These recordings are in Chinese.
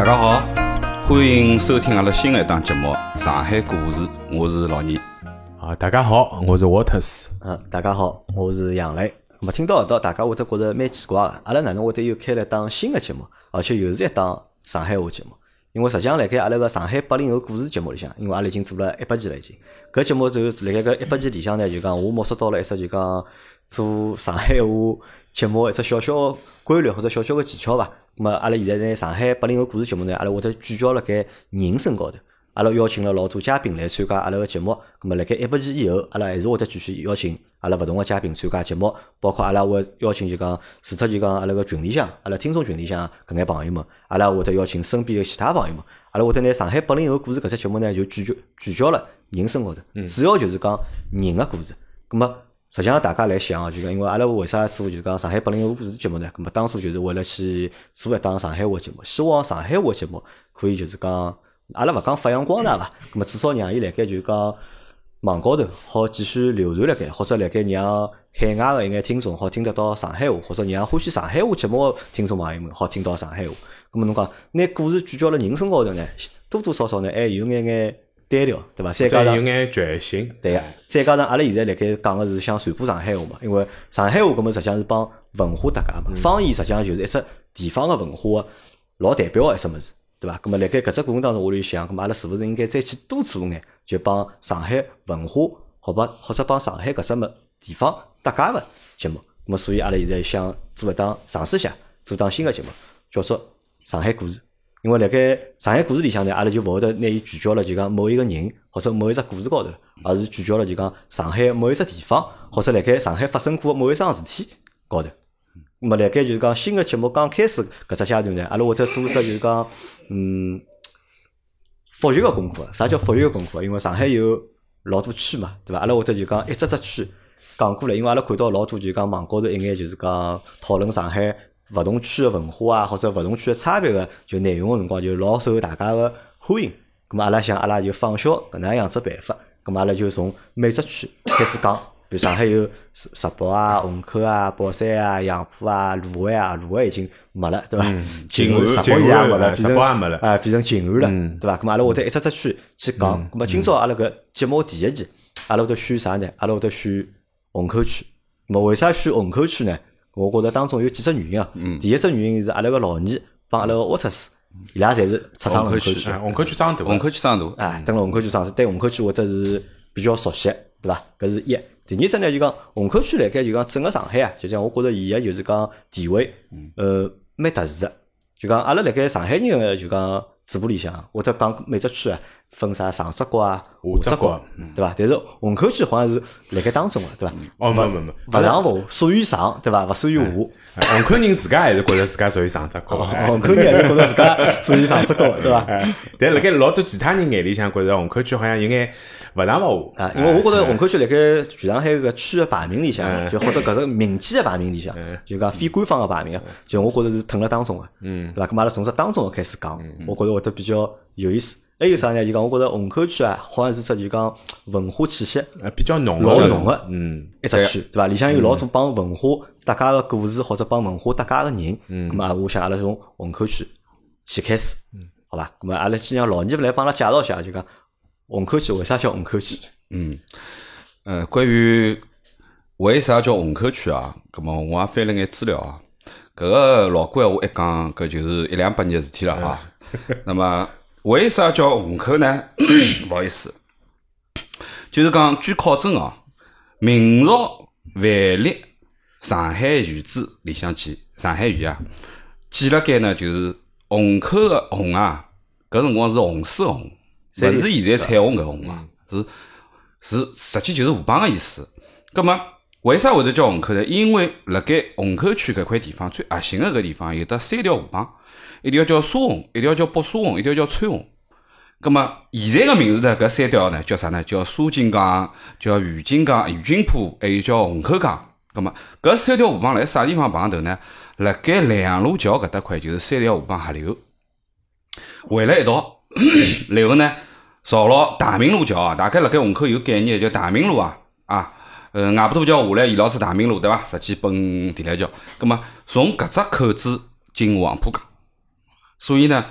家好，欢迎收听阿拉新的一档节目《上海故事》，我是老倪。 大家好，我是 Waters。 大家好，我是杨磊。咁听到搿道，大家会得觉着蛮奇怪个，阿拉哪能会得又开了一档新的节目，而且又是一档上海话节目？因为实际上辣盖阿拉个上海80后故事节目里向，因为阿拉已经做了100期了已经。搿节目就是辣盖搿100期里向呢，就讲我摸索到了一只就讲做上海话节目一只小小规律或者小小个技巧伐。咁么阿拉现在呢上海80后故事节目呢，阿拉会得聚焦辣盖人身高头。阿拉邀请了老多嘉宾来参加阿拉个节目，咁么辣盖100期以后，阿拉还是会得继续邀请阿拉勿同个嘉宾参加节目，包括阿拉会邀请就讲除脱就讲阿拉个群里向，阿拉听众群里向搿眼朋友们，阿拉会得邀请身边个其他朋友们，阿拉会得拿上海80后故事搿只节目呢就聚焦了人身高头，主要就是讲人个故事。咁么实际上大家来想啊，就讲因为阿拉为啥做就是讲上海80后故事节目呢？咁么当初就是为了去做一档上海话节目，希望上海话节目可以就是讲。阿拉勿讲发扬光大伐，咁么至少让伊辣盖就讲网高头好继续流传辣盖，或者辣盖让海外个一眼听众好听得到上海话，或者让欢喜上海话节目个听众朋友们好听到上海话。咁么侬讲拿故事聚焦辣人身高头呢，多多少少呢还有眼单调，对伐？再加上有眼局限， 对个。再加上阿拉现在辣盖讲个是想传播上海话嘛，因为上海话搿么实际上是帮文化搭界嘛，方言实际上就是一只地方个文化个老代表个一只物事。对伐？咁么辣盖搿只过程当中，我就想，咁么阿拉是勿是应该再去多做眼，就帮上海文化，或者帮上海搿只地方搭界个节目。咁么所以阿拉现在想做一档尝试下，做档新个节目，叫做上海故事。因为辣盖上海故事里向呢，阿拉就勿会得拿伊聚焦了就讲某一个人或者某一只故事高头，而是聚焦了就讲上海某一只地方，或者辣盖上海发生过某一桩事体高头。咁么辣盖就是讲新个节目刚开始搿只阶段呢，阿拉会得做一只就是讲复习个功课。啥叫复习个功课？因为上海有老多区嘛，对伐？阿拉会得就讲一只区讲过来，因为阿拉看到老多就讲网高头一眼就是讲讨论上海勿同区个文化啊，或者勿同区个差别个就内容个辰光，就老受大家个欢迎。咁么阿拉想阿拉就仿效搿能样子办法，咁么阿拉就从每只区开始讲。比如上海有石北啊、虹口啊、宝山啊、杨浦啊、卢湾啊，卢湾已经没了，对伐？ 静安石北也没了， 石北也没了， 变成静安了，对伐？咁阿拉会得一只区去讲。咁么今朝阿拉搿节目第一期，阿拉会得选啥呢？阿拉会得选虹口区。咁么为啥选虹口区呢？我觉着当中有几只原因啊。第一只原因是阿拉个老倪帮阿拉个沃特斯，伊拉侪是出生虹口区， 虹口区长大， 虹口区长大， 蹲辣虹口区长大，对虹口区会得是比较熟悉，对伐？搿是一。第二只呢，就讲虹口区辣盖就讲整个上海啊，就讲我觉着伊个就是讲地位，蛮特殊个。就讲阿拉辣盖上海人个就讲嘴巴里向，会得讲每只区啊分啥上只角啊、下只角，对伐？但是虹口区好像是辣盖当中个，对伐？ 哦，没， 勿上下，属于上，对伐？勿属于下。 虹口人自家还是觉着自家属于上只角， 虹口人还是觉着自家属于上只角，对伐？ 但辣盖老多其他人眼里向，觉着虹口区好像有眼勿上勿下。 因为我觉着虹口区辣盖全上海搿区个排名里向，就或者搿只民间个排名里向，就讲非官方个排名，就我觉着是吞辣当中个，对伐？咁阿拉从这当中开始讲，我觉着会得比较有意思。还有啥呢？就讲我觉着虹口区啊，好像是只就讲文化气息比较浓老浓个，一只区，对伐？里向有老多帮文化搭界个故事，或者帮文化搭界个人。咁么我想阿拉从虹口区先开始，好伐？咁么阿拉先让老倪来帮阿拉介绍一下，就讲虹口区为啥叫虹口区？ 关于为啥叫虹口区啊？咁么我也翻了眼资料啊。搿个老古闲话一讲，搿就是100-200年个事体了啊。那么为啥叫虹口呢？不好意思，就是讲据考证啊，明朝万历上海御制里向记，上海御啊，记了该呢就是虹口个虹啊，搿辰光是红水红，勿是现在彩虹搿红啊，是实际就是河浜个意思。葛末为啥会得叫虹口呢？因为辣盖虹口区搿块地方最核心个搿地方有得3条河浜。一条叫沙虹，一条叫北沙虹，一条叫川虹。咁么现在个名字呢？搿3条呢叫啥呢？叫沙井江，叫余金江、余金浦，还有叫虹口江。咁么搿3条河浜辣啥地方碰头呢？辣盖两路桥搿搭块就是3条河浜合流，汇了一道，然后呢，造了大明路桥啊。大概辣盖虹口有概念叫大明路啊，外婆桥下来沿牢是大明路对伐？实际奔地来桥。咁么从搿只口子进黄浦江。所以呢，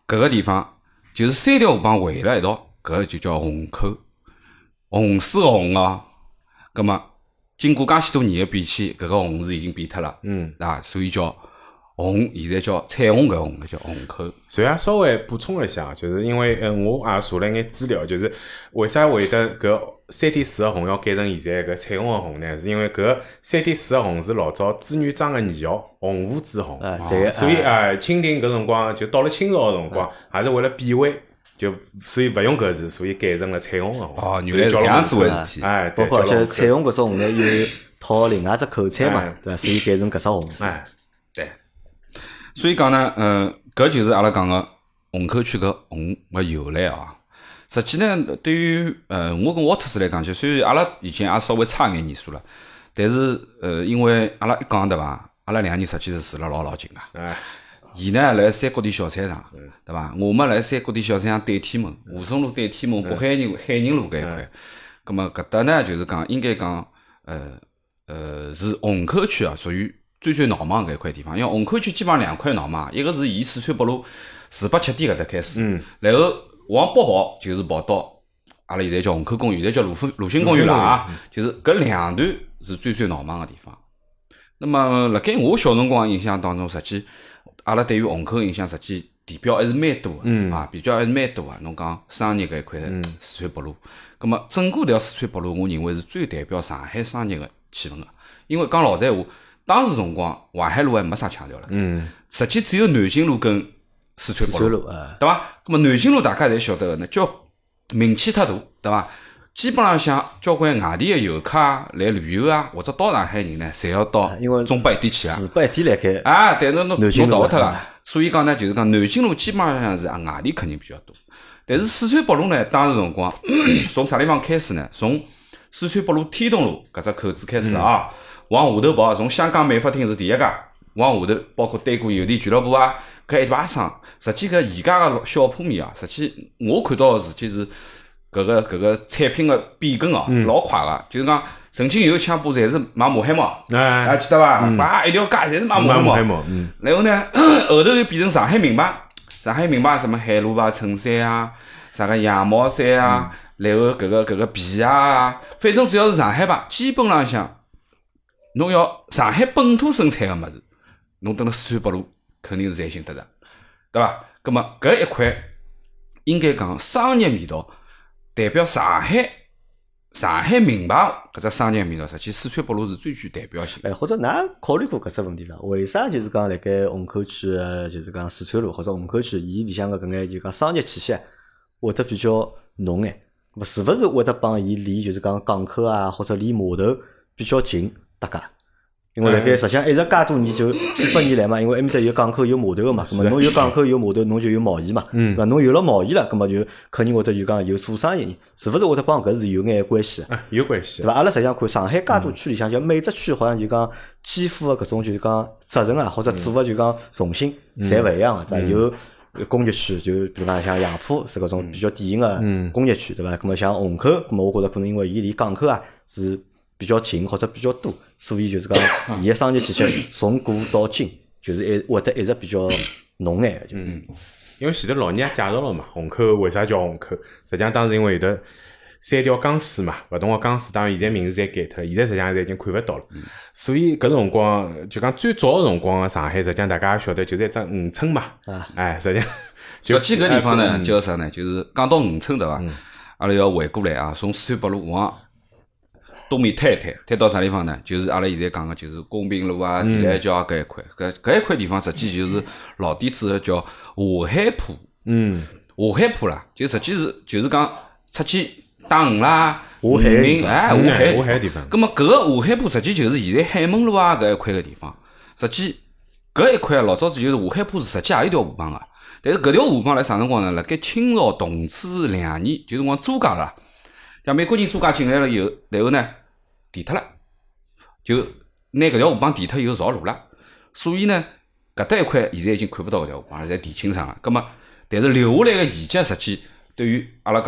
搿个地方就是三条河浜围了一道，搿就叫虹口，虹水个虹哦。葛末经过介许多年个变迁，搿个虹是已经变脱了，啊，所以叫虹，现在叫彩虹搿个虹叫虹口。 所以也稍微补充了一下，就是因为我也查了眼资料，就是为啥会得搿3.4个虹要改成现在搿彩虹个虹呢？是因为搿3.4个虹是老早朱元璋个年号洪武之虹， 对， 所以清廷搿辰光就到了清朝个辰光，也是为了避讳。就所以勿用搿字，所以改成了彩虹个虹。 哦，原来是搿样子回事体。 哎， 包括而且彩虹搿只虹呢，有套另外只口彩嘛，对伐？所以改成搿只虹。 哎， 对。所以讲呢，搿就是阿拉讲个虹口区搿虹个由来啊。实际呢，对于我跟沃特斯来讲起，虽然阿拉已经也稍微差眼年数了，但是因为阿拉一讲对伐，阿拉两个人实际是住了老近个。 哎。 伊呢辣三角地小菜场，对伐？我们辣三角地小菜场对天门，华松路对天门，北海人路搿一块。葛末搿搭呢，就是讲应该讲，是虹口区啊，属于最闹忙搿一块地方。因为虹口区基本上两块闹忙，一个是沿四川北路487点搿搭开始，然后往北跑就是跑到阿拉现在叫虹口公园，现在叫鲁迅公园了啊。就是搿两段是最闹忙个地方。那么辣盖我小辰光印象当中，实际阿拉对于虹口印象，实际地标还是蛮多个，啊，比较还是蛮多个。侬讲商业搿一块四川北路，葛末整个条四川北路，我认为是最代表上海商业个气氛个。因为讲老实闲话，当时辰光淮海路还没啥腔调了，实际只有南京路跟四川北路，对伐？葛末南京路大家侪晓得个，那叫名气太大，对伐？基本上像交关外地个游客啊，来旅游啊，或者到上海人呢，侪要到中北一点去啊。 市北一点来开啊，但是侬逃勿脱个。所以讲呢，就是讲南京路基本上是外地客人比较多。但是四川北路呢，当时辰光从啥地方开始呢？从四川北路天东路搿只口子开始啊，往下头跑，从香港美发厅是第一家，往下头包括对过邮电俱乐部啊，搿一排商，实际搿宜家个小铺面啊，实际我看到个事体是。搿个产品个变更哦，老快个，就是讲曾经有一枪部侪是卖马海毛，还记得伐？哇，一条街侪是卖马海毛，然后呢，后头又变成上海名牌，什么海陆牌衬衫啊，啥个羊毛衫啊，然后搿个皮鞋啊，反正只要是上海牌，基本浪向侬要上海本土生产个物事，侬蹲辣四川北路肯定是侪寻得着，对伐？葛末搿一块应该讲商业味道。代表上海名牌搿只商业味道，实际四川北路是最具代表性。 或者㑚考虑过搿只问题伐？为啥就是讲辣盖虹口区就是讲四川路或者虹口区，伊里向个搿眼就讲商业气息会得比较浓眼？咾是勿是会得帮伊离就是讲港口啊或者离码头比较近搭界？因为辣盖实际上一直介多年就几百年来嘛，因为埃面搭有港口有码头个嘛，咾么侬有港口有码头，侬就有贸易嘛，对伐？侬有了贸易了，咾么就肯定会得就讲有做生意人，是勿是会得帮搿是有眼关系？ 有关系， 对伐？阿拉实际上看上海介多区里向，就每只区好像就讲肩负个搿种就是讲责任啊，或者做个就讲重心，侪勿一样个，对伐？有工业区，就比如讲像杨浦是搿种比较典型个工业区，对伐？咾么像虹口，咾么我觉着可能因为伊离港口啊是比较近或者比较多，所以就是讲伊个商业气息从古到今就是会得一直比较浓眼就。 因为前头老人也介绍了嘛，虹口为啥叫虹口？实际上当时因为有得三条钢丝嘛，勿同个钢丝，当然现在名字侪改脱，现在实际上已经看勿到了。所以搿辰光就讲最早个辰光个上海，实际上大家也晓得就是一只渔村嘛。实际上实际搿地方呢叫啥呢？就是讲到渔村对伐？阿拉要回过来啊，从四川北路往东面推到啥地方呢？就是阿拉现在讲个，就是公平路啊、地兰桥搿一块，搿一块地方实际就是老底子叫华海铺。华海铺啦，就实际就是讲出去打鱼啦、 华海民华海地方。 葛末搿个华海铺实际就是现在海门路啊搿一块个地方。实际搿一块老早子就是华海铺是实际也有条河浜个，但是搿条河浜辣啥辰光呢？辣盖清朝同治2年，就辰光租界了。像美国人租界进来了以后，然后呢填脱了，就拿搿条河浜填脱以后造路了，所以呢搿搭一块现在已经看勿到搿条河浜了，侪填清爽了。葛末但是留下来个遗迹，实际对于阿拉讲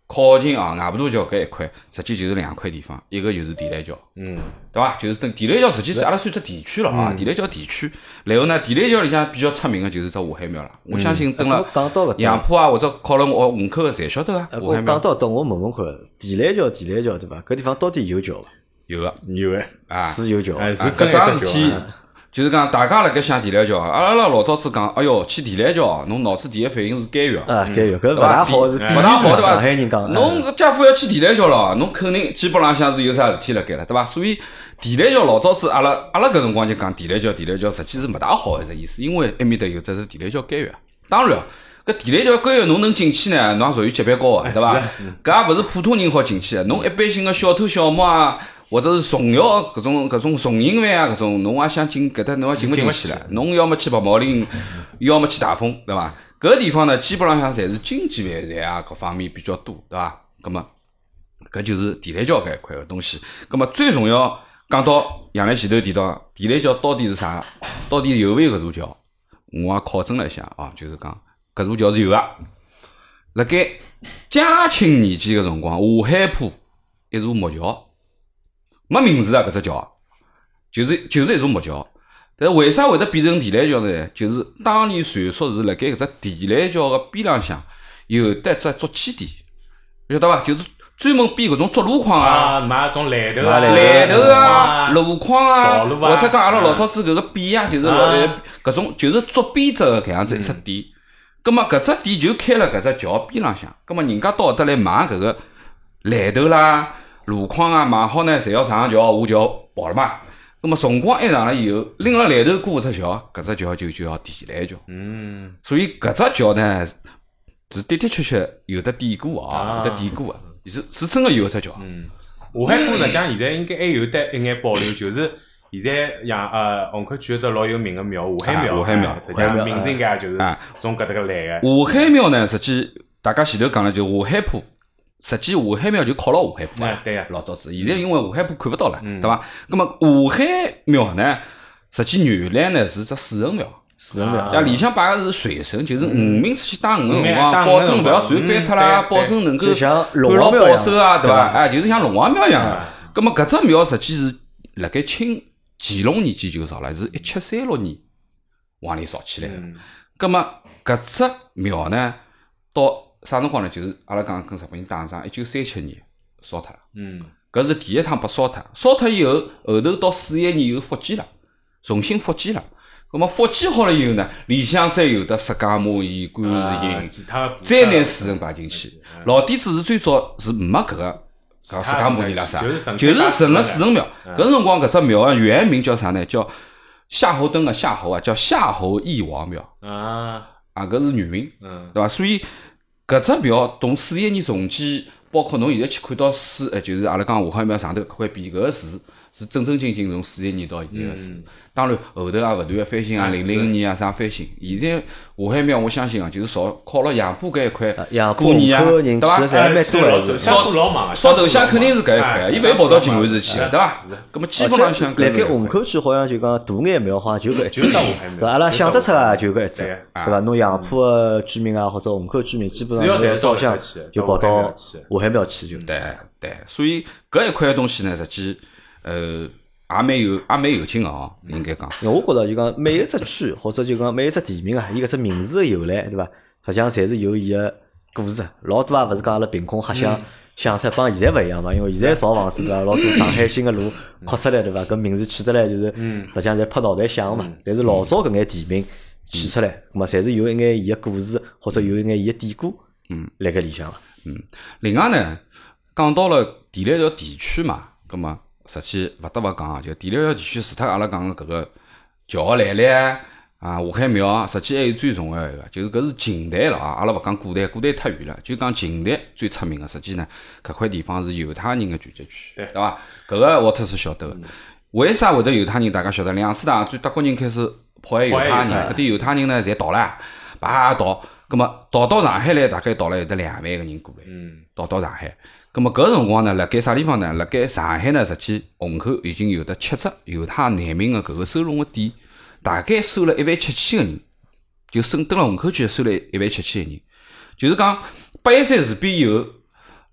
靠近外婆大桥搿一块，实际就是两块地方，一个就是地雷桥，对伐？就是等地雷桥实际是阿拉算只地区了啊，地雷桥地区。然后呢，地雷桥里向比较出名个就是只下海庙了。我相信等了杨浦啊或者考了我虹口个侪晓得个下海庙。 讲到搿我问看，地雷桥对伐？搿地方到底有桥伐？ 有个有个啊， 是有桥， 是真搿桩事体。就是讲，大家辣盖想地雷桥，阿拉老早子讲，哎哟，去地雷桥，侬脑子第一反应是监狱啊，监狱，搿勿大好，是勿大好对伐？ 上海人讲， 侬家父要去地雷桥了，侬肯定基本浪向是有啥事体辣盖了，对伐？所以地雷桥老早子阿拉搿辰光就讲地雷桥，实际是勿大好一只意思，因为埃面搭有只是地雷桥监狱。当然，搿地雷桥监狱侬能进去呢，侬也属于级别高个，对伐？搿也勿是普通人好进去个，侬一般性个小偷小摸啊。或者是重要搿种重刑犯啊，搿种侬也想进搿搭，侬也进勿进去了。侬要么去白毛岭，要么去大丰，对伐？搿个地方呢，基本浪向侪是经济犯罪啊，各方面比较多，对伐？葛末搿就是地雷桥搿一块个东西。葛末最重要讲到杨澜前头提到地雷桥到底是啥？到底有勿有搿座桥？我也考证了一下啊，就是讲搿座桥是有个。辣盖嘉庆年间个辰光，下海浦一座木桥。没名字啊，搿只桥就是一座木桥，但是为啥会得变成地雷桥呢？就是当年传说是辣盖搿只地雷桥个边浪向有得只捉起点，晓得伐？就是专门编搿种捉路框啊， 买种来头啊、路框啊，或者讲阿拉老早子搿个匾啊，就是搿种就是捉编织个搿样子一只点。葛末搿只点就开了搿只桥边浪向，葛末人家到搿搭来买搿个来头啦。路框啊，买好呢，侪要上桥下桥跑了嘛。那么辰光一长了以后，拎了来头过只桥，搿只桥就叫地雷桥。所以搿只桥呢是的确有得典故啊，有得典故啊，是真个有只桥。 下海浦实际上现在应该还有得一眼保留，就是现在虹口区一只老有名个庙下海庙，实际上名字应该就是从搿搭个来个。 下海庙呢，实际大家前头讲了就下海浦。实际下海庙就靠牢下海浦对呀， 老早子。现在因为下海浦看勿到了，对伐？那么下海庙呢，实际原来呢是只水神庙。 水神庙， 呀，里向摆个是水神，就是五名出去打鱼个辰光，保证勿要船翻脱啦，保证能够像龙安牢王庙保守啊，对伐？哎，就是像龙王庙一样个。那么搿只庙实际是辣盖乾隆年间就造了，是1736年往里造起来个。那么搿只庙呢，到啥辰光呢？就是阿拉讲跟日本人打仗，1937年烧脱了。搿是第一趟被烧脱。烧脱以后，后头到41年又复建了，重新复建了。咁么复建好了以后呢，里向再有得释迦牟尼、观世音，再拿水神摆进去。老底子是最早是没搿个释迦牟尼啦啥，就是成了水神庙。搿辰光搿只庙个原名叫啥呢？叫夏侯惇个夏侯啊，叫夏侯义王庙。搿是原名，对伐？所以搿只庙从41年重建，包括侬现在去看到水，就是阿拉讲下海庙上头搿块匾，搿个字是正正经经从41年到现在个字。当然后头也勿断个翻新啊，00年啊啥翻新。现在下海庙我相信啊，就是朝靠牢杨浦搿一块过年啊，对伐？烧头香肯定是搿一块，伊勿会跑到静安寺去个，对伐？搿么基本浪向辣盖虹口区好像就讲大眼庙好像就搿一只，搿阿拉想得出啊就搿一只，对伐？侬杨浦个居民啊或者虹口居民，基本上侪烧香就跑到下海庙去就。 对，所以搿一块东西呢，实际也蛮有劲个哦，应该讲。 我觉着就讲每一只区或者就讲每一只地名啊，伊搿只名字个由来，对伐？实际上侪是有伊个故事。老多也勿是讲阿拉凭空瞎想出，帮现在勿一样嘛。因为现在造房子对伐？老多上海新个路扩出来对伐？搿名字取得来就是实际上侪拍脑袋想嘛。但是老早搿眼地名取出来，咾么侪是有一眼伊个故事或者有一眼伊个典故辣盖里向个。 另外呢，讲到了地雷桥地区嘛，葛么实际勿得勿讲，就地雷桥地区除脱阿拉讲个搿个桥来历啊，下海庙，实际还有最重要一个，就是搿是近代了啊。阿拉勿讲古代，古代太远了，就讲近代最出名个。实际呢，搿块地方是犹太人个聚集区，对伐？搿个沃特是晓得个。为啥会得犹太人？大家晓得，2次大战最德国人开始迫害犹太人，搿点犹太人呢，侪逃了，叭逃。葛么逃到上海来，大概逃了有得2万个人过来，逃到上海。葛么搿辰光呢，辣盖啥地方呢？辣盖上海呢，实际虹口已经有得7只犹太难民个搿个收容个点，大概收了17000个人，就登了虹口区收了17000个人。就是讲813事变以后，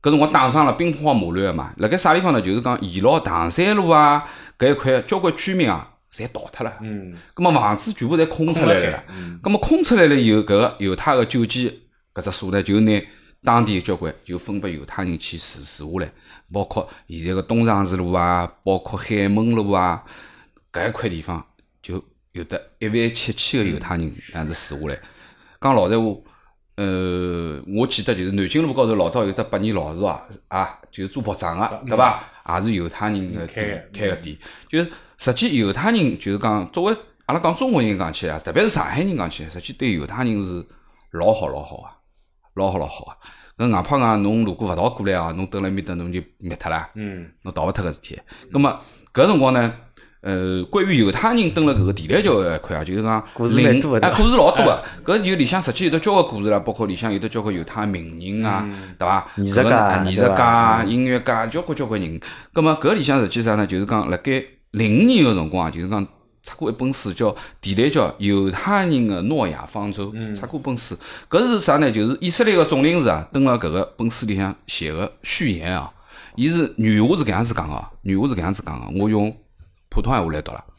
搿辰光打上了兵荒马乱嘛。辣盖啥地方呢？就是讲宜老唐山路啊搿一块交关居民啊，侪逃脱了。葛末房子全部侪空出来了。葛末空出来了以后，搿个犹太个救济搿只所呢，就拿当地交关就分拨犹太人去住下来，包括现在个东长治路啊，包括海门路啊，搿一块地方就有得17000个犹太人这样子住下来。讲老实话。我记得就是南京路高头老早有只百年老树啊，就是做服装个，对伐？也是犹太人个开个店。就是实际犹太人就是讲，作为阿拉讲中国人讲起来，特别是上海人讲起来，实际对犹太人是老好啊。搿外派讲侬如果勿逃过来侬蹲辣埃面搭侬就灭脱了，侬逃勿脱个事体。葛末搿辰光呢？关于犹太人蹲辣搿个地雷桥搿一块就是讲故事蛮多的， 故事老多个。搿就里向实际有得交关故事啦，包括里向有得交关犹太名人啊，对伐？艺术家、音乐家，交关人。葛末搿里向实际上呢，就是讲辣盖05年个辰光，就是讲出过一本书叫《地雷桥犹太人的诺亚方舟》，出过本书。搿是啥呢？就是以色列个总领事蹲辣搿个本书里向写个序言啊。伊是原话是搿样子讲个，我用普通话来读了。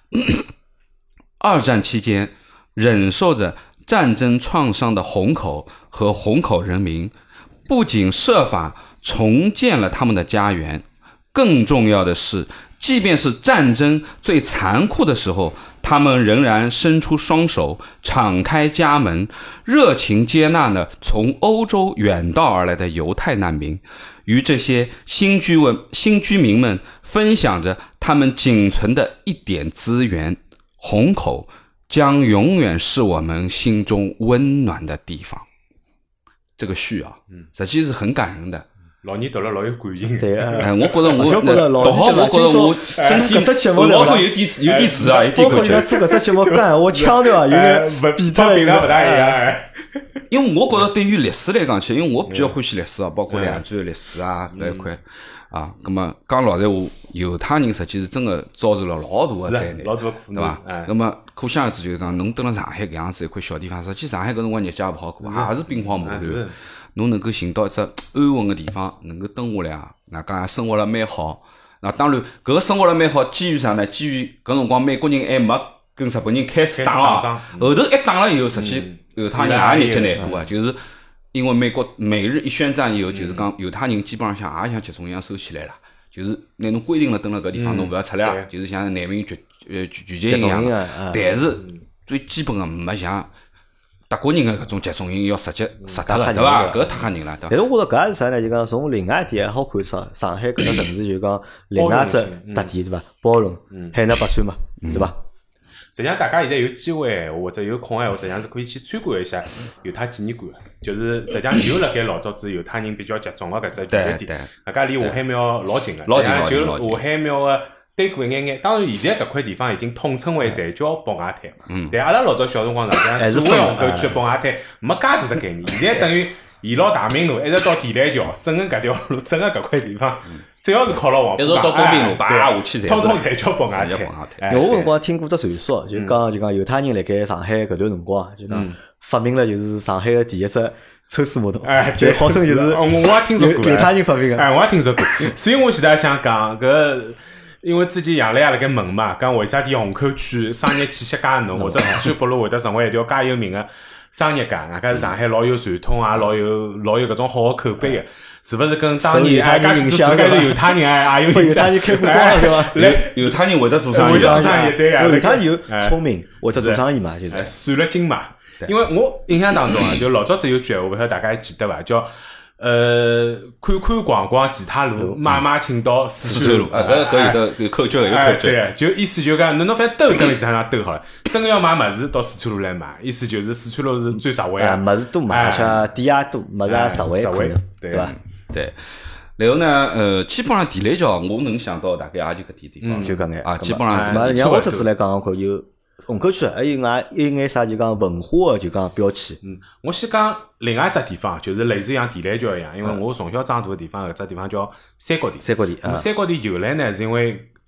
二战期间，忍受着战争创伤的虹口和虹口人民，不仅设法重建了他们的家园，更重要的是，即便是战争最残酷的时候，他们仍然伸出双手，敞开家门，热情接纳了从欧洲远道而来的犹太难民，与这些新居民们分享着他们仅存的一点资源。虹口将永远是我们心中温暖的地方。这个序实际是很感人的。 老年读了老有感情。 对我觉得读好，我觉得我身体搿只节目脑壳有点词有点包括要做搿只节目讲我腔调有点比他勿大一样。 因为我觉得对于历史来讲起，因为我比较欢喜历史包括两战历史搿一块咁么讲老实话，犹太人实际是真的遭受了老大的灾难， 老大的苦难，对伐？咁么可想而知，就是讲侬蹲辣上海搿样子一块小地方，实际上海搿辰光日脚也勿好过，也是兵荒马乱。侬能够寻到一只安稳的地方，能够蹲下来那讲生活了蛮好。那当然，搿个生活了蛮好，基于啥呢？基于搿辰光美国人还没跟日本人开始打后头一打了以后，实际犹太人也日脚难过就是因为美日一宣战以后，就是讲犹太人基本上也像集中营一样收起来了，就是拿侬规定了蹲辣搿地方侬勿要出来就是像难民聚集营一样。但是最基本的没像德国人的搿种集中营要实得个，对伐？搿太吓人了，对伐？ 但是我觉着搿也是啥呢？就讲从另外一点还好看出，上海搿个城市就讲另外一只特点，对伐？包容，海纳百川嘛，对伐？ 实际上，大家现在有机会或者有空实际上是可以去参观一下犹太纪念馆。就是实际上就辣盖老早子犹太人比较集中的搿只聚集地，大家离华海庙老近个，实际上就华海庙个对过一眼。当然，现在搿块地方已经统称为才叫北外滩。但阿拉老早小辰光实际上所谓虹口区北外滩没介大只概念。现在等于沿牢大明路一直到地雷桥，整个搿条路，整个搿块地方。只要是靠牢黄浦江，一直到公平路，下去通通侪叫北外滩。 我辰光听过只传说，就讲犹太人辣盖上海搿段辰光，就讲发明了就是上海个第一只抽水马桶，就号称就是我也听说过， 犹太人发明个。 我也听说过。所以我现在想讲搿，因为之前杨澜也辣盖问嘛，讲为啥体虹口区商业气息介浓，或者四川北路会得成为一条介有名个商业街，外加是上海老有传统老有搿种好个口碑个。是勿是跟当年介许多世界头犹太人也有犹太人开过光了对伐？ 犹太人会得做生意， 对啊， 犹太人有聪明会得做生意嘛，就是算了精嘛。因为我印象当中就老早子有句闲话，勿晓得大家还记得伐？叫看看逛逛其他路，买青岛四川路。 搿有口诀，有口诀。 对，就意思就讲，侬反正兜跟其他地方兜好了。真个要买物事到四川路来买，意思就是四川路是最实惠物事多买，而且店也多，物事也实惠，对伐？ 对，然后呢，基本上地雷桥我能想到大概也就搿点地方， 就搿眼基本上是。让我特殊来讲看，有虹口区还有一眼啥就讲文化的就讲标签。 我先讲另外一只地方，就是类似像地雷桥一样，因为我从小长大的地方，搿只地方叫三角地。 三角地， 三角地由来呢，是因为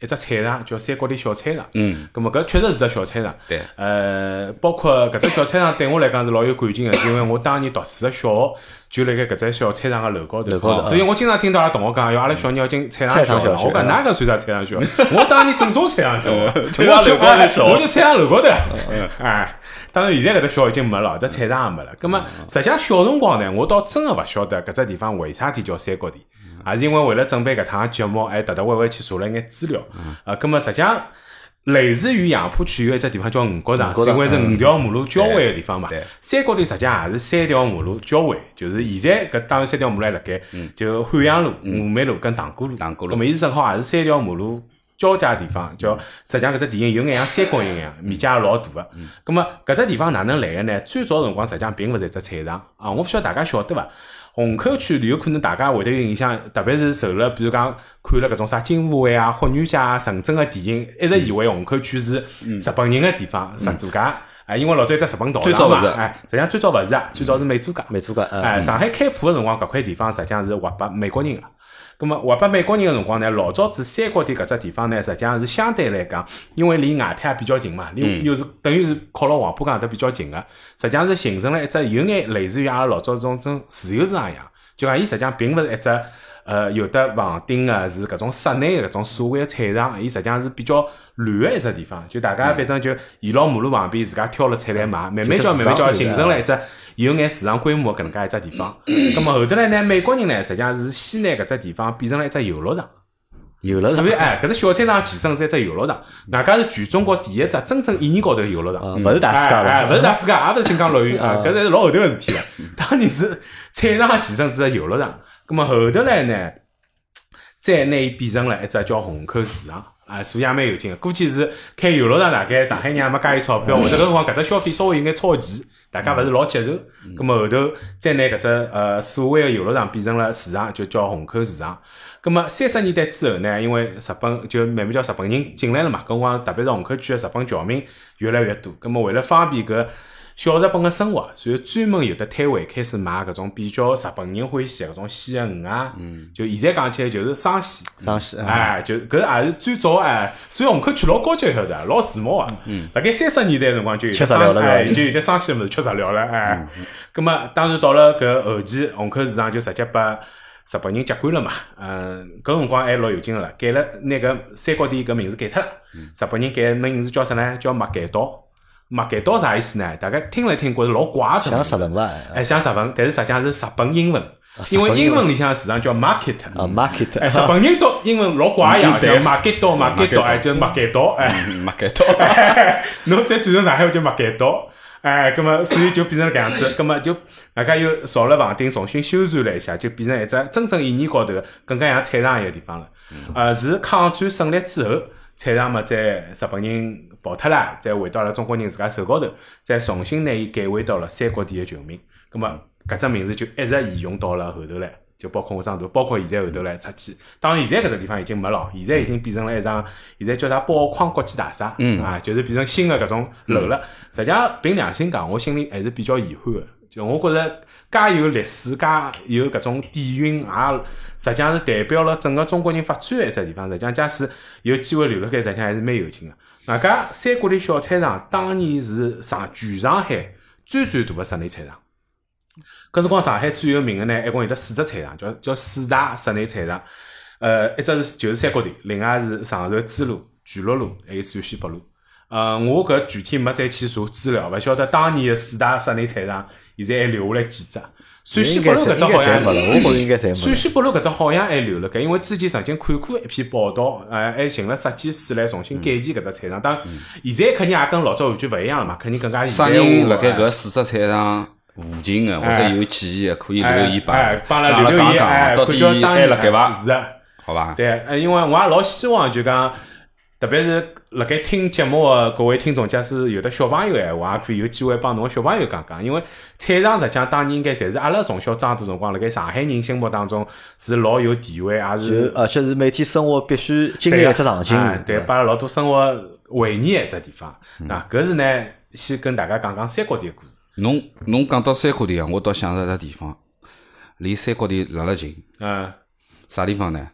一只菜场叫三角地小菜场。 嗯， 咁么搿确实是只小菜场。 对。 包括搿只小菜场对我来讲是老有感情个，是因为我当年读书个小学就辣盖搿只小菜场个楼高头，所以我经常听到阿拉同学讲，阿拉小人要进菜场小学。我讲哪个算啥菜场小学？我当年正宗菜场小学， 菜场楼高头小， 我就菜场楼高头。哎，当然现在搿只小已经没了，只菜场也没了。咁么实际上小辰光呢，我倒真个勿晓得搿只地方为啥体叫三角地，也是因为为了准备搿趟节目，特特会去查了一眼资料。咁么实际上。类似于杨浦区有一只地方叫五角场，是因为是5条马路交汇的地方嘛。三角地实际上也是3条马路交汇，就是现在搿当然3条马路还辣盖，就汉阳路、峨眉路跟塘沽路。咁么伊是正好也是3条马路交界地方，叫实际上搿只地形有眼像三角形一样，面积也老大个。咁么搿只地方哪能来个呢？最早辰光实际上并勿是一只菜场啊，我勿晓得大家晓得伐？虹口区有可能大家会得有印象，特别是受了比如讲看了搿种啥金华会啊、霍元甲啊、纯正个电影，一直以为虹口区是日本人个地方，十租界。因为老早有只日本道场嘛，实际上最早勿是啊，最早是美租界。 美租界， 上海开埠个辰光，搿块地方实际上是划拨美国人个。咁么划拨美国人个辰光呢，老早子三角地搿只地方呢，实际上是相对来讲，因为离外滩也比较近嘛，又是等于是靠牢黄浦江搿搭比较近个，实际上是形成了一只有眼类似于阿拉老早种自由市场一样，就讲伊实际上并勿是一只有的房顶个是搿种室内个搿种所谓个菜场，伊实际上是比较乱个一只地方，就大家反正就沿牢马路旁边自家挑了菜来买，慢慢叫形成了一只有眼市场规模搿能介一只地方。咁么后头来呢，美国人呢实际上是先拿搿只地方变成了一只游乐场。所以搿只小菜场前身是一只游乐场，外加是全中国第一只真正意义高头游乐场， 勿是大世界了， 勿是大世界，也勿是新疆乐园啊，搿是老后头个事体了。当年是菜场前身是只游乐场，咁么后头来呢，再拿伊变成了一只叫虹口市场。所以也蛮有劲个。估计是开游乐场，大概上海人也没介有钞票，或者搿辰光搿只消费稍微有眼超前，大家勿是老接受。咁么后头再拿搿只所谓个游乐场变成了市场，就叫虹口市场。咁么30年代之后呢，因为日本就慢慢叫日本人进来了嘛，搿辰光特别是虹口区个日本侨民越来越多。咁么为了方便搿小日本个生活，所以专门有的摊位开始卖搿种比较日本人欢喜搿种鲜个鱼啊，就现在讲起来就是生鲜，就搿也是最早所以虹口区老高级晓得，老时髦啊。辣盖30年代辰光就有吃食料了， 就有点生鲜物事吃食料了，咁么当然到了搿后期，虹口市场就直接把日本人接管了嘛。搿辰光还老有劲个了，改了拿搿三角地搿名字改脱了。日本人改名字叫啥呢？叫麦秆岛。麦秆岛啥意思呢？大家听来听觉着老怪的， 像日文伐？ 像日文，但是实际上是日本英文，因为英文里向市场叫 market。 market。 日本人读英文老怪一样，叫麦秆岛，就麦秆岛， 麦秆岛。 侬再转成上海话叫麦秆岛，葛么所以就变成了搿样子，葛么就大家又造了房顶，重新修缮了一下，就变成一只真正意义高头更加像菜场一个地方了。是抗战胜利之后，菜场嘛，在日本人跑脱了，再回到了中国人自家手高头，再重新拿伊改回到了三角地的球名。咁么搿只名字就一直沿用到了后头来，就包括我长大，包括现在后头来出去。当然现在搿只地方已经没了，现在已经变成了一幢，现在叫它宝矿国际大厦，就是变成新的搿种楼了。实际上凭良心讲，我心里还是比较遗憾的。就我觉着介有历史、介有搿种底蕴，实际上是代表了整个中国人发展的一只地方。实际上假使有机会留辣盖，实际上还是蛮有劲个。外加三角地小菜场当年是全上海最大的室内菜场。搿辰光上海最有名的呢，一共有得4只菜场，叫4大室内菜场。一只就是三角地，另外是常熟支路、巨鹿路，还有陕西北路。我搿具体没再去查资料，勿晓得当年的4大室内菜场现在还留下来几只。陕西北路搿只好像， 我觉着应该侪没。 陕西北路搿只好像还留了盖，因为之前曾经看过一篇报道，还寻了设计师来重新改建搿只菜场。当然，现在肯定也跟老早完全勿一样了嘛，肯定更加现代化。 啥人辣盖搿4只菜场附近个，或者有记忆个，可以留言帮了留言， 到底还辣盖伐？ 是啊， 好吧？ 对，因为我也老希望就讲。特别是辣盖听节目的各位听众，假使有的小朋友闲话，也可以有机会帮侬小朋友讲讲。因为菜场实际上当年应该侪是阿拉从小长大辰光，辣盖上海人心目当中是老有地位，也是而且是每天生活必须经历一只场景， 对，把老多生活回忆一只地方。搿是呢，先跟大家讲讲三角地的故事。 侬讲到三角地啊，我倒想着一个地方，离三角地辣辣近。啥地方呢？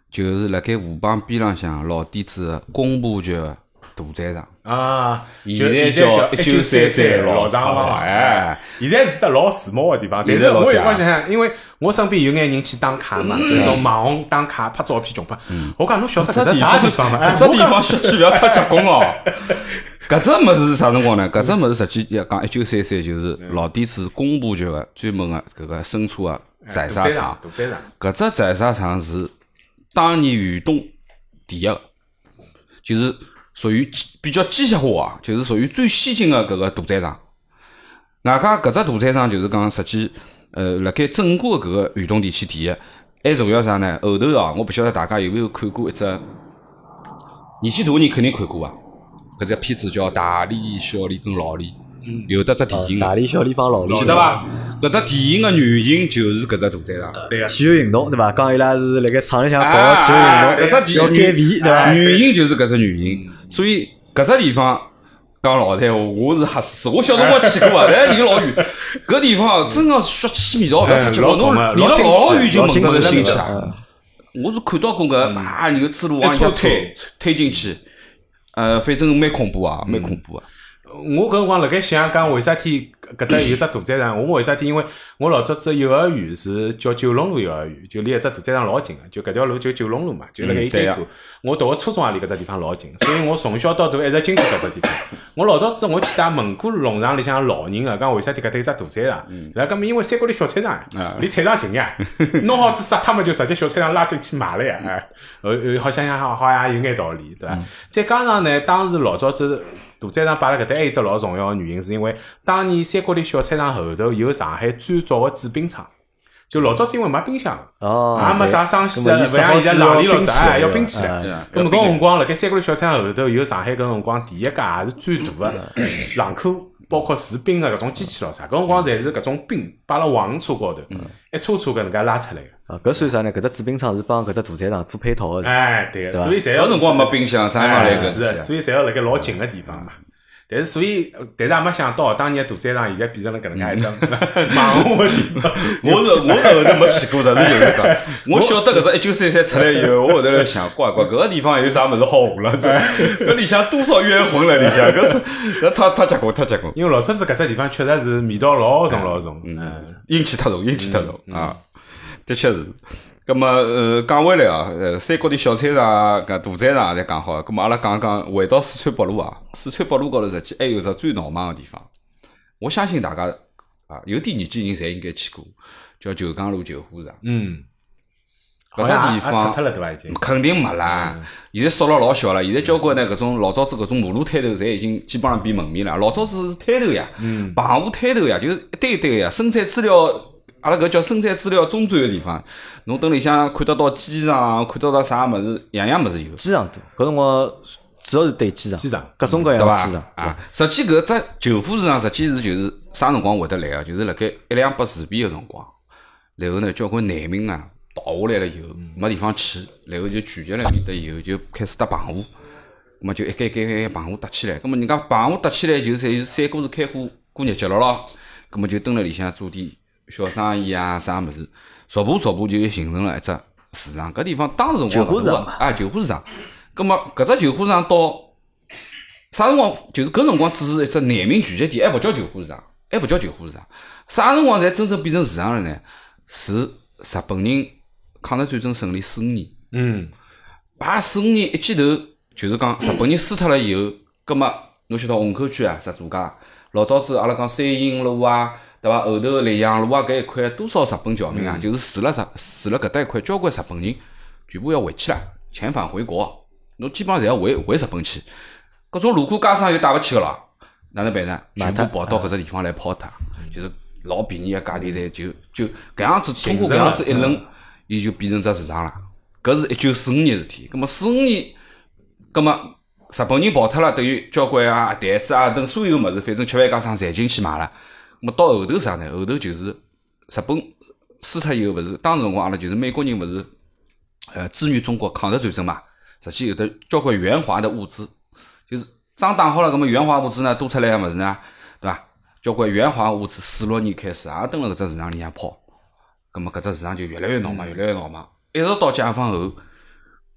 就是辣盖河浜边浪向老底子的工部局的大战场啊， 现在叫1933 老厂房， 哎， 现在是只老时髦的地方。但是我有光想想，因为我身边有眼人去打卡嘛，就是种网红打卡拍照片穷拍。我讲侬晓得搿只啥地方吗？ 搿只地方小区勿要太结棍哦。搿只物事是啥辰光呢？搿只物事实际要讲1933就是老底子工部局的专门的搿个生产的宰杀场。搿只宰杀场是当年豫东第一个，就是属于比较机械化，就是属于最先进的搿个屠宰场。外加搿只屠宰场就是讲实际，辣盖整个搿个豫东地区第一。还重要啥呢？后头啊，我不晓得大家有没有看过一只年纪大的人肯定看过啊。搿只片子叫《大李、小李跟老李》，有得只电影。 大李、小李帮老李， 记得伐？搿只电影的原型就是搿只屠宰场。 对啊， 体育运动对伐？讲伊拉是辣盖厂里向搞体育运动， 搿只要减肥对伐？ 原型就是搿只原型，所以搿只地方讲老实话，我是吓死。我小辰光去过啊，但离老远。搿地方真个血气味道勿要太结棍，侬离了老远就闻得是腥气啊。我是看到过搿牛子路往下推进去。反正蛮恐怖啊，蛮恐怖啊。 我搿辰光辣盖想讲，为啥体搿搭有只屠宰场？我为啥体？因为我老早子幼儿园是叫九龙路幼儿园，就离一只屠宰场老近个，就搿条路就九龙路嘛，就辣盖伊对过。我读个初中也离搿只地方老近，所以我从小到大一直经过搿只地方。我老早子我记得问过农场里向老人个，讲为啥体搿搭有只屠宰场？然后搿么因为三角里小菜场离菜场近呀，弄好子杀脱么就直接小菜场拉进去卖了呀。好像也有眼道理，对伐？再加上呢，当时老早子屠宰场摆辣搿搭还有一只老重要个原因，是因为当年三角里小菜场后头有上海最早个制冰厂，就老早子因为没冰箱，也没啥生鲜个，勿像现在冷链了要冰起来。咁么搿辰光辣盖三角里小菜场后头有上海搿辰光第一家也是最大个冷库，包括制冰个搿种机器咯啥，搿辰光侪是搿种冰摆辣黄车高头，一车搿能介拉出来个。 搿算啥呢？搿只制冰厂是帮搿只屠宰场做配套的。 哎，对个，所以侪要搿辰光没冰箱，啥地方来搿？ 是，所以侪要辣盖老近个地方嘛。但是所以，但是也没想到，当年屠宰场现在变成了搿能介一只盲目个地方。 我是后头没去过，实事求是讲。我晓得搿只1933出来以后，我后头来想，乖，搿个地方有啥物事好活了？搿里向多少冤魂了里向，搿太结棍，太结棍。 因为老早子搿只地方确实是味道老重老重， 阴气太重，阴气太重啊，的确是。咁么讲回来啊，三角的小菜场、搿屠宰场侪讲好了，咁么阿拉讲讲回到四川北路啊，四川北路高头实际还有只最闹忙个地方，我相信大家啊有点年纪人侪应该去过，叫九江路救护场。搿只地方脱了对伐？已经肯定没啦，现在缩了老小了。现在交关呢搿种老早子搿种马路摊头，侪已经基本上变门面了。老早子是摊头呀，棚户摊头呀，就是一堆一堆呀，生产资料。阿拉搿叫生产资料中转个地方，侬等里向看得到机场，看得到啥物事，样样物事有。 机场多，搿辰光主要是对机场，各种各样机场啊。实际搿只救护市场实际是就是啥辰光会得来个，就是辣盖128事变个辰光，然后呢交关难民啊逃下来了以后没地方去，然后就聚集辣面搭以后就开始搭棚户，那么就一间棚户搭起来，那么人家棚户搭起来就侪三哥是开花过日节了咯，那么就蹲辣里向做点小生意啊，啥物事，逐步就形成了一只市场。搿地方当时辰光救护场啊，救护场。葛末搿只救护场到啥辰光？就是搿辰光只是一只难民聚集地，还勿叫救护场，还勿叫救护场。啥辰光才真正变成市场了呢？是日本人抗日战争胜利45年。把45年一记头，就是讲日本人输脱了以后，葛末侬晓得虹口区啊，十字街，老早子阿拉讲三营路啊。对伐？后头溧阳路啊，搿一块多少日本侨民啊，就是住了搿搭一块，交关日本人全部要回去了，遣返回国，侬基本上侪要回日本去。搿种路过街商又带勿起个咯，哪能办呢？全部跑到搿只地方来抛脱，就是老便宜个价钿侪就搿样子，通过搿样子一轮，伊就变成只市场了。搿是1945年事体，葛末45年，葛末日本人跑脱了，等于交关啊台子啊等所有物事，反正吃饭街商侪进去买了。么到后头啥呢？后头就是日本输脱以后，勿是当时辰光阿拉就是美国人勿是支援中国抗日战争嘛，实际有的交关援华的物资，就是仗打好了，搿么援华物资呢多出来个物事呢，对伐？交关援华物资46年开始也蹲辣搿只市场里向跑，搿么搿只市场就越来越闹忙，越来越闹忙，一直到解放后，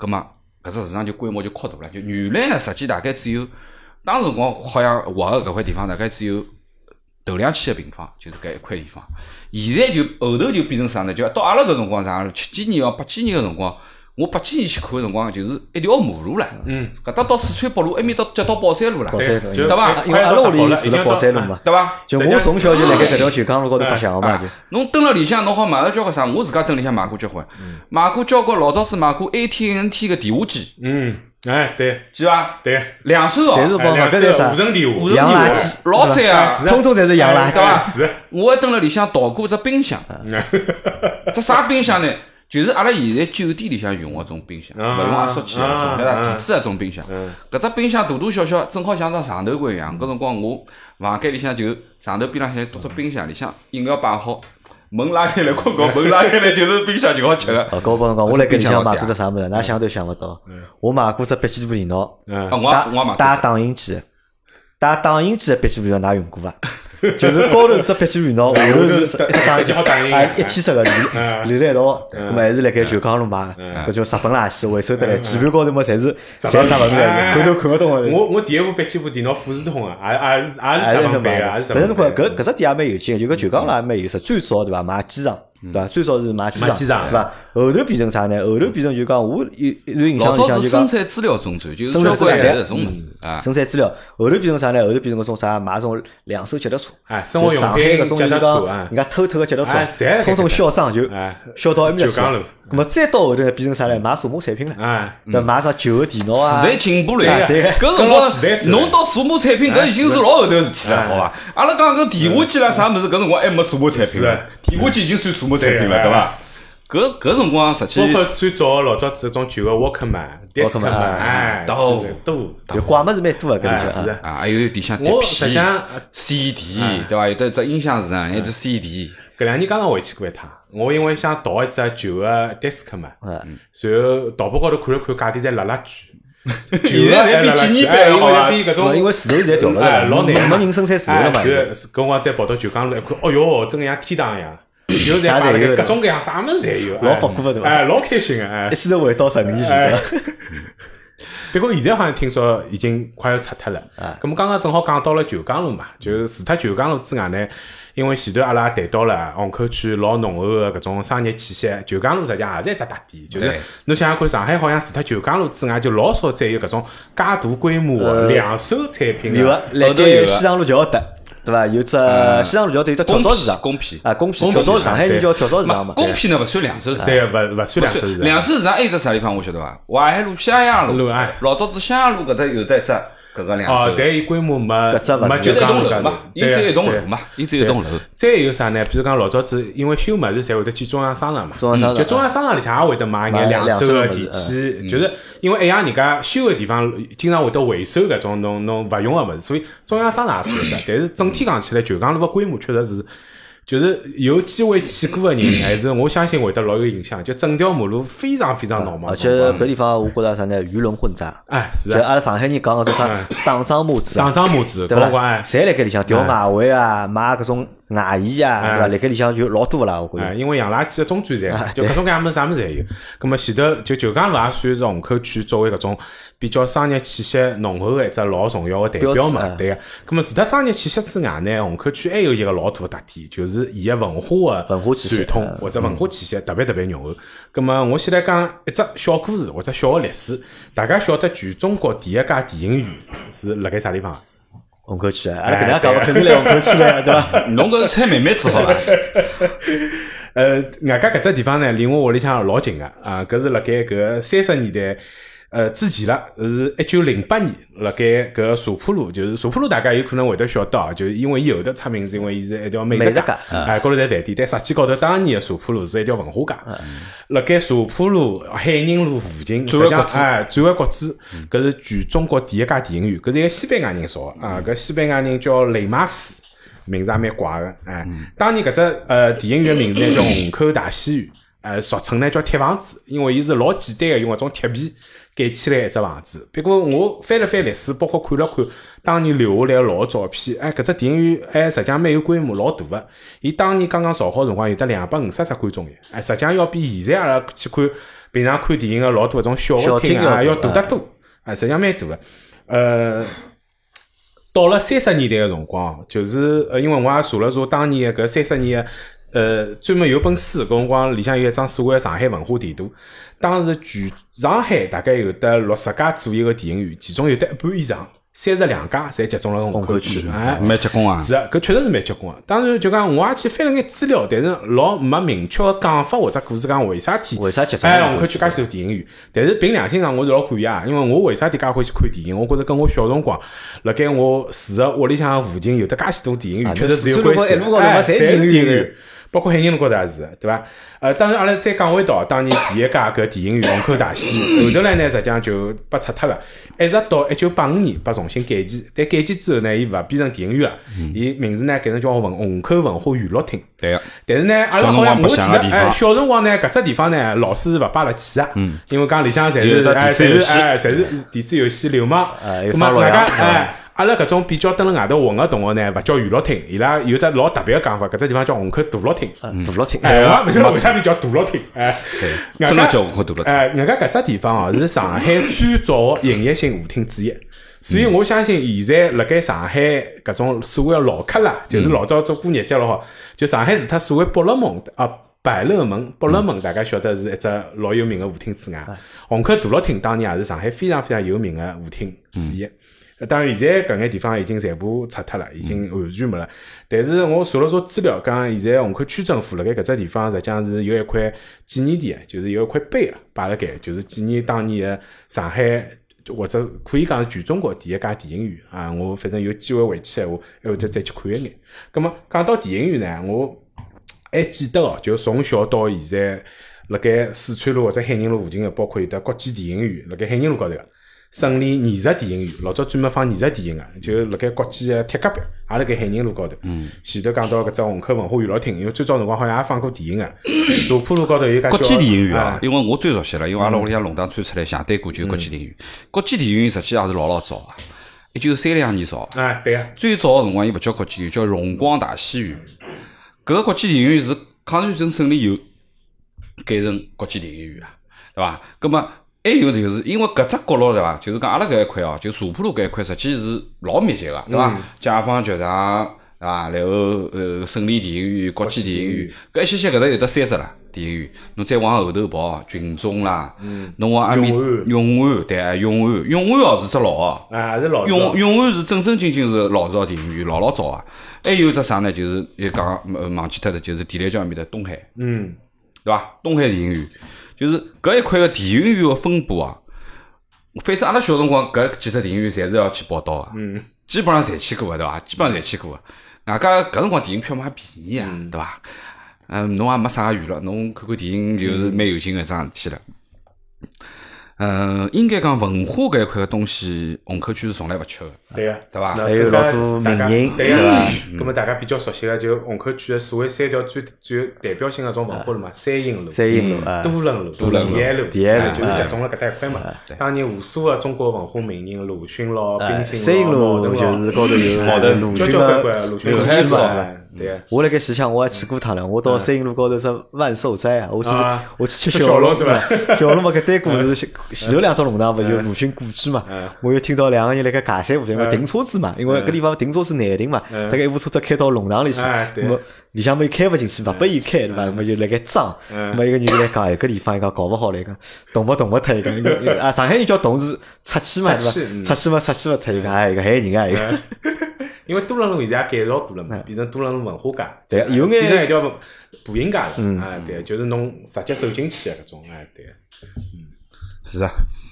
葛末搿只市场就规模就扩大了。就原来呢，实际大概只有当时辰光好像划个搿块地方大概只有头2000个平方，就是搿一块地方。现在就后头就变成啥呢？就到阿拉搿辰光啥，7几年8几年个辰光。我8几年去看个辰光，就是一条马路啦。搿搭到四川北路，埃面到接到宝山路啦，对伐？ 因为阿拉屋里住辣宝山路嘛， 对伐？ 就我从小就辣盖搿条旧江路高头白相个嘛，就。 侬蹲辣里向，侬好买个交关啥？我自家蹲里向买过交关，买过交关老早子买过 AT&T 个电话机。 哎，对， 记伐？ 对 2手哦， 侪是帮搿是是啥？ 无尘电话， 洋垃圾， 老赞啊！ 通通侪是洋垃对伐圾。 我还蹲辣里向淘过只冰箱，只啥冰箱呢？就是阿拉现在酒店里向用个种冰箱，勿用压缩机个种，对伐？电子个种冰箱，搿只冰箱大大小小，正好像张床头柜一样。搿辰光我房间里向就床头边浪向多只冰箱，里向饮料摆好，门拉开来困觉，门拉开来就是冰箱就好吃个。 搿我帮侬讲，我辣盖里向买过只啥物事，㑚想都想勿到。我买过只笔记本电脑， 我带打印机，带打印机个笔记本电脑㑚用过伐？就是高头只笔记本电脑，下头是一只打印机，一体式个连在一道，咁么还是辣盖旧江路买个，搿叫日本垃圾，回收得来，基本高头么侪是侪啥物事，看都看勿懂个。 我第一部笔记本电脑富士通个，也是日本版个，也是日本版。 但是侬看搿只点也蛮有劲，就搿旧江路也蛮有意思。最早对伐买机场，对伐？最早是买机场，对伐？后头变成啥呢？后头变成就讲我有印象里向就讲生产资料中转，就是交关搿种物事啊。 生产资料后头变成啥呢？后头变成搿种啥买种2手脚踏车， 生活用品搿种就讲人家偷个脚踏车，通通销赃就销到埃面去。咁么再到后头变成啥呢？买数码产品了，对，买啥旧个电脑啊。 时代进步了呀，搿辰光侬到数码产品搿已经是老后头个事体了，好伐？阿拉讲搿电话机啦啥物事，搿辰光还没数码产品了，电话机已经算数码产品了，对伐？搿辰光实际包括最早老早子种旧个 Walkman、Discman，哎，多， 就怪物事蛮多个搿里向啊，还有里向碟片、CD， 对伐？有得只音响市场，还有只 CD。 搿2年刚刚回去过一趟，我因为想淘一只旧个 Discman，然后淘宝高头看了看，价钿侪辣辣贵。 现在还比几年版好啊！ 因为石头现在掉了， 老难， 没人生产石头了嘛。 搿我再跑到旧江路一看，哦哟，真个像天堂一样。就在摆辣各种各样啥物事侪有， 老复古个对伐？ 哎，老开心个，哎， 一记头回到12年前。 不过现在好像听说已经快要拆脱了。咁么刚刚正好讲到了旧江路嘛，就是除脱旧江路之外呢，因为前头阿拉谈到了虹口区老浓厚个搿种商业气息，旧江路实际上也是一只特点，就是侬想想看，上海好像除脱旧江路之外，就老少再有搿种介大规模个2手产品。 有个，辣盖西塘路桥搭。对伐？有只西塘路桥头有只跳蚤市场， 公批啊，公批跳蚤市场，海人叫跳蚤市场嘛。 公批呢勿算2手市场， 对，勿算2手市场。 2手市场还有只啥地方我晓得伐？淮海路、襄阳路，老早子襄阳路搿搭有得一只搿个2手。 但伊规模没就一栋楼嘛，伊只有一栋楼嘛，伊只有一栋楼。 再有啥呢？比如讲老早子，因为修物事侪会得去中央商场嘛，就中央商场里向也会得买眼2手个电器，就是因为一样人家修个地方经常会得回收搿种侬勿用个物事，所以中央商场也算一只。但是整体讲起来，旧江路个规模确实是。就是有机会去过个人，还是我相信会得老有印象。就整条马路非常非常闹忙， 而且搿地方我觉着啥呢？鱼龙混杂。 哎，是就阿拉上海人讲个种啥打桩母子，对伐？侪辣盖里向调马尾啊，买搿种外衣啊，对伐？辣盖里向就老多啦，我觉着。 因为洋垃圾个中转站，就各种各样物事啥物事侪有。葛末前头就旧江路也算是虹口区作为搿种比较商业气息浓厚个一只老重要个代表嘛，对个。葛末除脱商业气息之外呢，虹口区还有一个老大个特点，就是伊个文化个传统或者文化气息特别特别浓厚。葛末我先来讲一只小故事或者小个历史，大家晓得全中国第一家电影院是辣盖啥地方？ 虹口区啊，阿拉搿能介讲，肯定来虹口区了，对伐？ 侬搿是猜妹妹子好伐？ 外加搿只地方呢，离我屋里向老近个啊，搿是辣盖搿30年代。之前啦，是1908年，辣盖搿茶浦路，就是茶浦路，大家有可能会得晓得啊，就是因为伊后头出名，是因为伊是一条美食街，高头在饭店，但实际高头当年的茶浦路是一条文化街。辣盖茶浦路、海宁路附近，实际上转弯国子，搿是全中国第一家电影院，搿是一个西班牙人造的啊，搿西班牙人叫雷马斯，名字也蛮怪个，当年搿只电影院名字呢叫虹口大戏院。俗称呢叫铁房子，因为伊是老简单个，用搿种铁皮盖起来一只房子。不过我翻了翻历史，包括看了看当年留下来老照片，搿只电影院实际上蛮有规模，老大个。伊当年刚刚造好辰光有得250只观众席，实际上要比现在阿拉去看平常看电影个老多搿种小个厅要大得多，实际上蛮大个。到了30年代个辰光，就是因为我也查了查当年搿30年个专门有本书，搿辰光里向有一张所谓上海文化地图。当时全上海大概有得60家左右个电影院，其中有得一半以上32家侪集中了虹口区， 蛮结棍啊！ 是啊，搿确实是蛮结棍个。当然就讲我也去翻了眼资料，但是老没明确个讲法或者故事讲为啥体集中虹口区介许多电影院。但是凭良心讲，我是老感谢啊，因为我为啥体介欢喜看电影？我觉着跟我小辰光辣盖我住个屋里向附近有得介许多电影院，确实是有关系。侪是电影院。包括海宁路高头也是，对伐？当然阿拉再讲回到当年第一家搿电影院虹口大戏，后头来呢实际上就被拆脱了，一直到1985年被重新改建。但改建之后呢，伊勿变成电影院了，伊名字呢改成叫虹口文化娱乐厅。 对个。 但是呢，阿拉好像我记得，小辰光呢搿只地方呢，老师是勿摆勿起啊，因为讲里向侪是电子游戏流氓， 咁么大家阿拉搿种比较蹲辣外头混个同学呢，勿叫娱乐厅，伊拉有只老特别个讲法，搿只地方叫虹口大乐厅。 大乐厅， 勿晓得为啥名叫大乐厅？ 对，真个叫虹口大乐厅。 人家搿只地方哦，是上海最早个营业性舞厅之一，所以我相信现在辣盖上海搿种所谓个老客啦，就是老早做过日脚了吼，就上海除脱所谓百乐门百乐门、百乐门，大家晓得是一只老有名个舞厅之外，虹口大乐厅当年也是上海非常非常有名个舞厅之一。当然，现在搿眼地方已经全部拆脱了，已经完全没了。但是我查了查资料，讲现在虹口区政府辣盖搿只地方，实际上是有一块纪念地，就是有一块碑啊，摆辣盖，就是纪念当年的上海，或者可以讲是全中国第一家电影院啊。我反正有机会回去闲话，还会得再去看一眼。葛末讲到电影院呢，我还记得哦，就从小到现在，辣盖四川路或者海宁路附近的，包括有得国际电影院，辣盖海宁路高头个。胜利艺术电影院，老早专门放艺术电影个，就辣盖国际个铁隔壁，也辣盖海宁路高头。前头讲到搿只虹口文化娱乐厅，因为最早辰光好像也放过电影个。茶坡路高头有家国际电影院啊，因为我最熟悉了，因为阿拉屋里向弄堂穿出来斜对过就是国际电影院。国际电影院实际也是老早啊，1932年造。 对啊。 最早个辰光伊勿叫国际电影院，叫荣光大戏院。搿个国际电影院是抗战争胜利以后改成国际电影院啊，对伐？葛末还有就是因为搿只角落对伐？就是讲阿拉搿一块哦，就茶坡路搿一块，实际是老密集个，对伐？解放剧场对伐？然后胜利电影院、国际电影院，搿一些搿搭有得30啦电影院。侬再往后头跑，群众啦，侬往阿面永安对啊，永安哦是只老个， 是老永安是正正经经是老早电影院，老早啊。还有只啥呢？就是又讲忘记脱的，就是地铁桥面的东海，对伐？东海电影院。就是搿一块个电影院个分布啊，反正阿拉小辰光搿几只电影院侪是要去报道个，基本上侪去过个对伐？基本上侪去过个。外加搿辰光电影票嘛也便宜啊，对伐？侬也没啥娱乐，侬看看电影就是蛮有劲个一桩事体了。应该讲文化搿一块个东西，虹口区是从来勿缺个， 对个， 对伐？ 还有老多名人， 对伐？葛末大家比较熟悉个就虹口区个所谓3条最有代表性个种文化路嘛，三英路、多伦路、第安路，就是集中了搿搭一块嘛。当年无数个中国文化名人，鲁迅咯、冰心三英路就是高头有鲁迅个鲁迅诗嘛。对， 我辣盖西乡我还去过趟了，我到三英路高头是万寿斋啊，我去吃小龙对伐？小龙嘛，搿对过是前头2只弄堂勿就鲁迅故居嘛？我又听到2个人辣盖尬三胡，因为停车子嘛，因为搿地方停车子难停嘛，大概一部车子开到弄堂里去，咾里向么又开勿进去，勿拨伊开对伐？咾就辣盖装，咾一个人来讲，搿地方伊讲搞勿好来讲，动勿脱伊讲，上海人叫动是出去嘛对伐？出去勿脱伊讲，一个害人啊一个。 因为多伦路现在也改造过了嘛，变成多伦路文化街， 对，有眼变成一条步行街了，对，就是侬直接走进去的搿种，对， 是啊，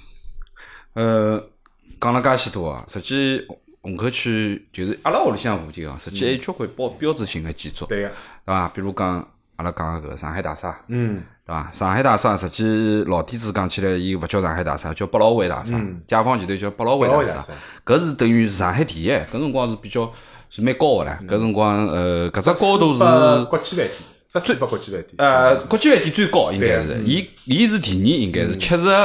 讲了介许多啊，实际虹口区就是阿拉屋里向附近啊，实际还有交关标志性的建筑， 对个， 对伐？比如讲阿拉讲个上海大厦，对伐？上海大厦实际老底子讲起来，伊勿叫上海大厦，叫百老汇大厦，解放前头叫百老汇大厦，搿是等于上海第一，搿辰光是比较是蛮高个唻，搿辰光搿只高度是国际饭店， 只400国际饭店。 国际饭店最高应该是，伊是第2，应该是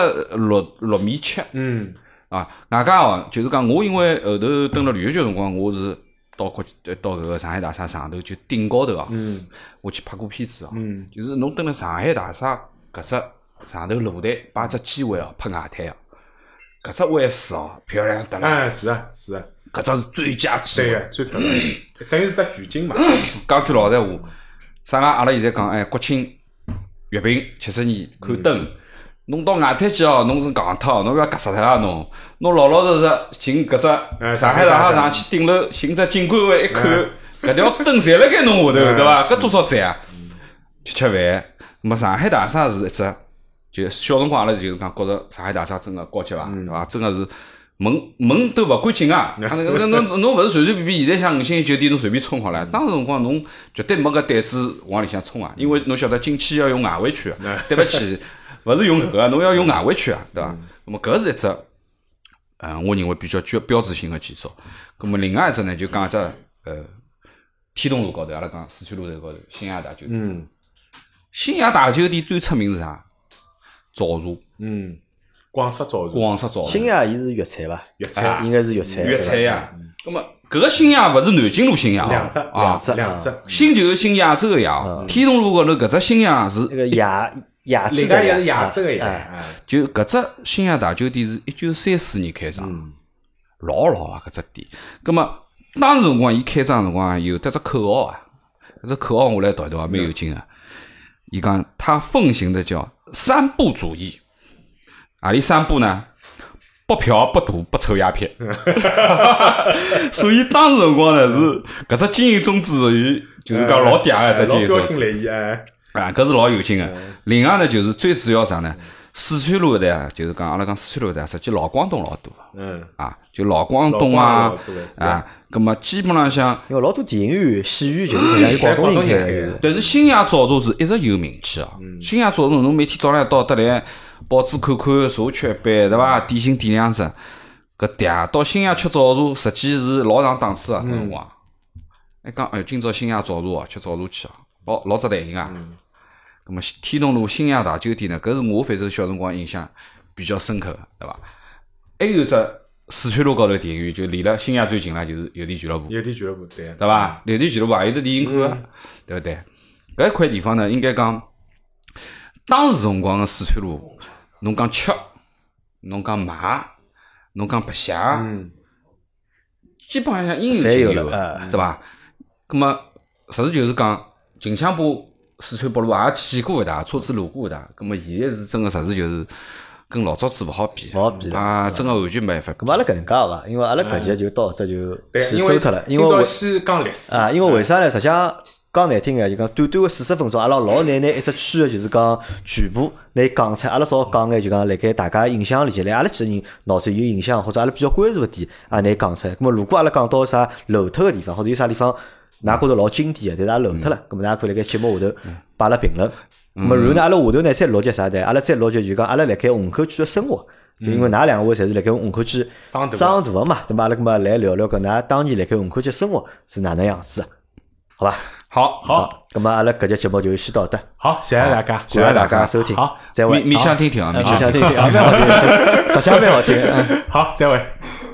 76.7米。啊，外加哦，就是讲我因为后头蹲了旅游局辰光，我是到搿个上海大厦上头就顶高头啊，我去拍过片子啊，就是侬蹲了上海大厦搿只上头露台摆只机位哦，拍外滩哦，搿只位置哦漂亮得了。 是啊， 搿只是最佳机位， 对个，最漂亮，等于是只全景嘛。 讲句老实话，啥个阿拉现在讲国庆阅兵70年看灯。侬到外滩去哦，侬是戆脱，侬要夹死脱啊！侬老老实实寻搿只上海大厦上去顶楼寻只景观位一看，搿条灯侪辣盖侬下头，对伐？搿多少赞啊！吃饭，那么上海大厦是一只，就小辰光阿拉就是讲觉着上海大厦真个高级伐，对伐？真个是门都勿敢进啊！侬勿是随随便便现在像5星级酒店侬随便冲好了，当时辰光侬绝对没搿胆子往里向冲啊，因为侬晓得进去要用外围区，对勿起。勿是用搿个，侬要用外围区啊，对伐？那么搿是一只，我认为比较标志性的建筑。那么另外一只呢，就讲一只天东路高头，阿拉讲四川路头高头新亚大酒店。新亚大酒店最出名是啥？早茶。 广式早茶。 新亚伊是粤菜伐？ 粤菜应该是粤菜。 粤菜呀。那么搿个新亚勿是南京路新亚两只。 新就是新亚洲个亚，天东路高头搿只新亚是那个亚另外也是亚洲个亚， 就搿只新亚大酒店是1934年开张，老啊搿只店。葛末当时辰光伊开张辰光有得只口号啊，搿只口号我来读一读啊，蛮有劲个。伊讲他奉行的叫3不主义，何里3不呢？不嫖不赌不抽鸦片。所以当时辰光呢是搿只经营宗旨属于就是讲老嗲个只经营宗旨。搿是老有劲个。另外呢，就是最主要啥呢？四川路的啊，就是讲阿拉讲四川路的，实际老广东老多。就老广东啊，葛末基本浪向， 因为老多电影院、戏院就是实际上有广东人开的。 但是新亚早茶是一直有名气啊。新亚早茶侬每天早浪到得来，报纸看看，茶吃一杯，对伐？点心点2只，搿嗲到新亚吃早茶，实际是老上档次啊。搿辰光，讲今朝新亚早茶哦，吃早茶去哦，老值弹性啊。咁么天东路新亚大酒店呢？搿是我反正小辰光印象比较深刻的，对伐？还有只四川路高头电影院，就离了新亚最近了，就是邮电俱乐部。 邮电俱乐部对伐？邮电俱乐部也有得电影看个，对勿对？搿一块地方呢，应该讲当时辰光的四川路，侬讲吃，侬讲买，侬讲白相，基本上应有尽有，对伐？咁么实事就是讲近腔部。四川北路也去过一趟，车子路过一趟，咁么现在是真个实事就是跟老早子勿好比啊，真个完全没办法。 咁阿拉搿能介伐？因为阿拉搿节就到搿就先收脱了，因为先讲历史啊，因为为啥呢？实际上讲难听个，就讲短短个40分钟，阿拉老难拿一只区个就是讲全部拿讲出，阿拉少讲眼就讲辣盖大家印象里头，来阿拉几个人脑子有印象或者阿拉比较关注个点啊，拿讲出来。咁么如果阿拉讲到啥漏脱个地方，或者有啥地方。㑚觉着老经典个，但是也漏脱了，咁么大家可以辣盖节目下头摆了评论。咁么然后呢，阿拉下头呢再录集啥的，阿拉再录集就讲阿拉辣盖虹口区个生活，就因为㑚2位侪是辣盖虹口区长大个嘛，对伐？阿拉咁么来聊聊搿㑚当年辣盖虹口区生活是哪能样子，好伐？ 好， 咁么阿拉搿节节目就先到这。 好，谢谢大家， 谢谢大家收听。 好， 再会。 面向听听啊， 面向听听啊，蛮好听，实际蛮好听。 好，再会。